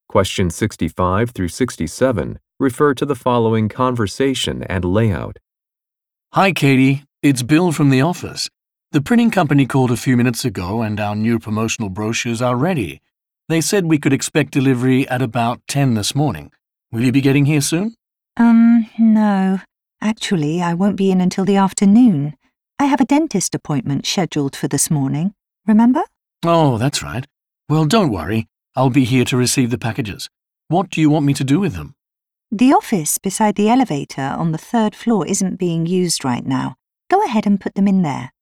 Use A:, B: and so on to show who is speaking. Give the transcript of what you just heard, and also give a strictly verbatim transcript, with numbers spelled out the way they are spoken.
A: Questions sixty-five through sixty-seven refer to the following conversation and layout.
B: Hi, Katie. It's Bill from the office. The printing company called a few minutes ago and our new promotional brochures are ready. They said we could expect delivery at about ten this morning. Will you be getting here soon?
C: Um, no. Actually, I won't be in until the afternoon. I have a dentist appointment scheduled for this morning. Remember?
B: Oh, that's right. Well, don't worry. I'll be here to receive the packages. What do you want me to do with them?
C: The office beside the elevator on the third floor isn't being used right now. Go ahead and put them in there.